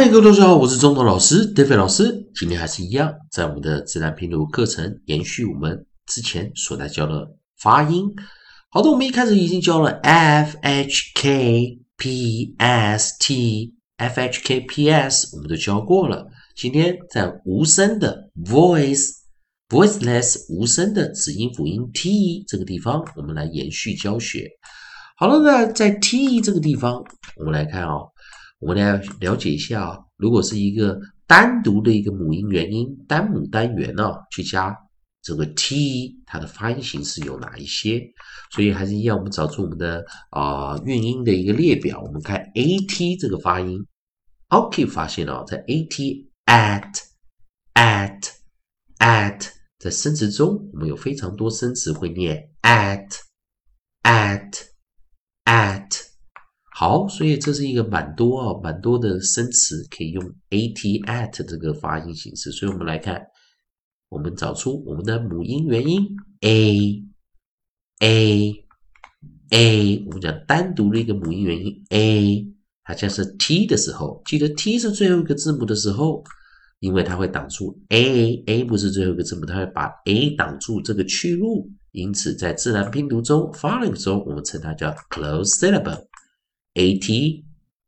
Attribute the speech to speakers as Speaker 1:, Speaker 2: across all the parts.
Speaker 1: 嗨，各位同学好，我是中头老师 David 老师。今天还是一样，在我们的自然拼读课程延续我们之前所在教的发音。好的，我们一开始已经教了 F H K P S T F H K P S， 我们都教过了。今天在无声的 voiceless 无声的子音辅音 T 这个地方，我们来延续教学。好了，那在 T 这个地方，我们来看哦。我们来了解一下啊，如果是一个单独的一个母音元音单母单元呢，去加这个 t， 它的发音形式有哪一些？所以还是一样，我们找出我们的韵音的一个列表。我们看 at 这个发音 ，OK 发现哦，在 at at 在生词中，我们有非常多生词会念 at。好，所以这是一个蛮多的生词可以用 at 这个发音形式。所以我们来看，我们找出我们的母音元音 a， 我们讲单独的一个母音元音 a， 它像是 t 的时候，记得 t 是最后一个字母的时候，因为它会挡住 a 不是最后一个字母，它会把 a 挡住这个去路，因此在自然拼读中发音中，我们称它叫 closed syllable。at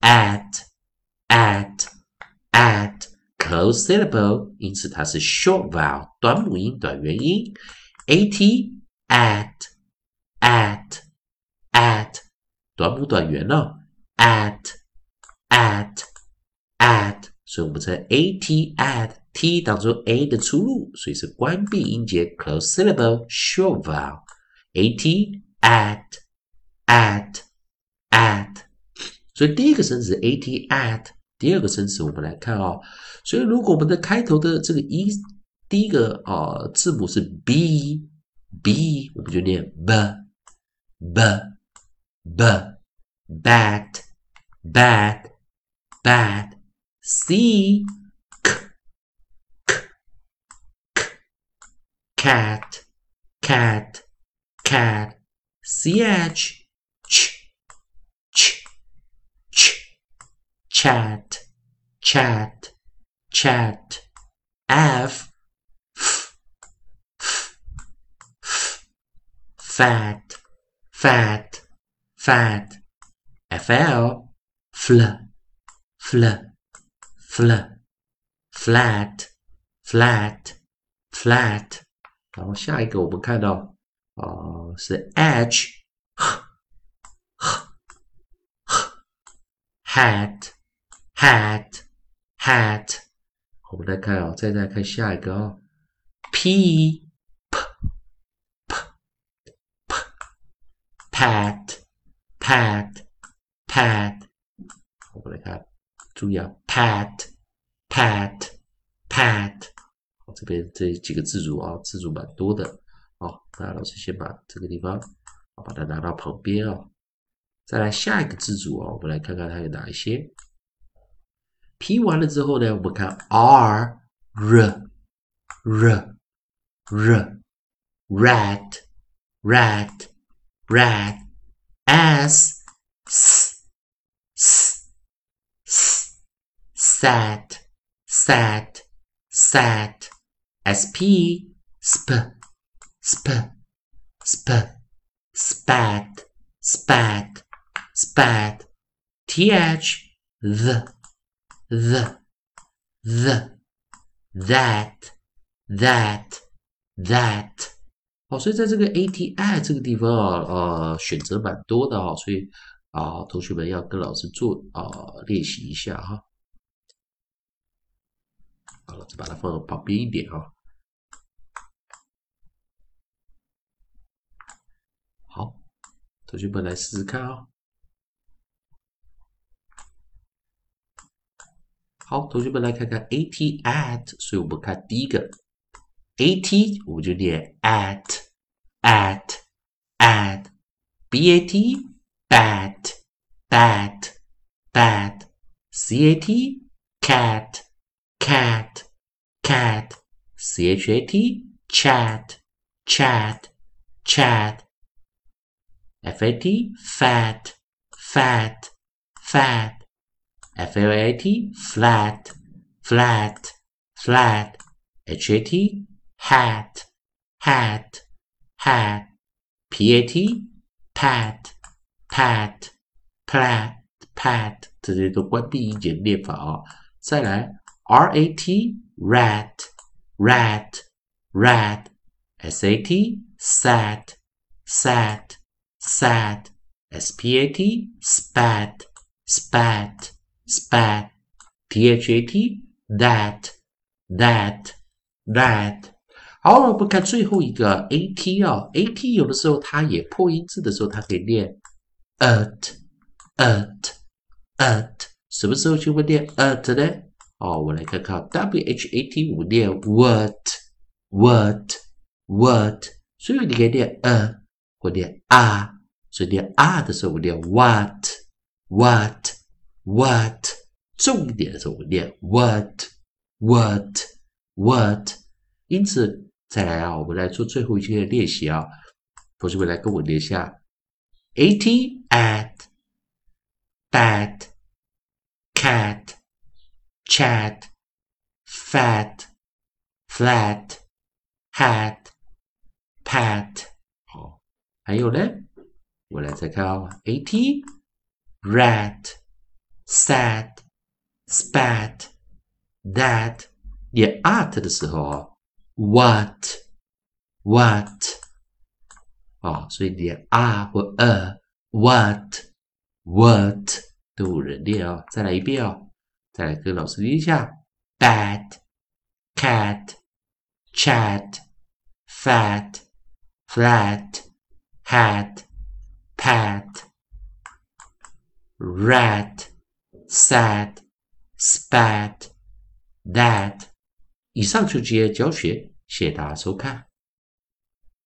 Speaker 1: closed syllable， 因此它是 short vowel 短母音短元音 at 短母短元哦 at， 所以我们在 at t 当中 a 的出路，所以是关闭音节 closed syllable short vowel at。所以第一个生词 at， 第二个生词我们来看哦。所以如果我们的开头的这个第一个字母是 b， 我们就念 b bad c cat ch chat f fat fl flat， 然后下一个我们看到是 edge hat， 我们来看哦，再看下一个哦 p pat， 我们来看，注意啊 pat， 这边这几个字组啊，字组蛮多的那老师先把这个地方把它拿到旁边再来下一个字组我们来看看它有哪一些。P 完了之后呢，我们看 R rat S sat SP spat TH the that 所以在这个 ATI 这个地方选择蛮多的所以同学们要跟老师做练习一下好，老师把它放到旁边一点好，同学们来试试看好，同学们来看看 at， 所以我们看第一个 at， 我们就念 at bat bat cat cat chat fat fat flat flat flat flat hat hat hat hat pat pat pat pat 这些都关闭音节念法哦。再来 rat rat rat rat sat sat sat sat spat spat spat spat that that that 好，我们看最后一个 at 哦 ，at 有的时候它也破音字的时候，它可以念 at， 什么时候就会念 at 呢？哦，我来看看 what， 我们念 what， 所以你可以念或念所以念的时候我念 what， 重一点的时候我念 what， 因此。再来啊，我们来做最后一些练习啊。同学们来跟我念一下 ：at at bat cat chat fat flat hat pat。好，还有呢，我来再看啊 ，at rat sat spat that。念 at 的时候啊。What 所以连或what 都有人练哦。再来一遍哦，再来跟老师念一下 bat cat chat fat flat hat pat rat sat spat that。以上就这些教学，谢谢大家收看。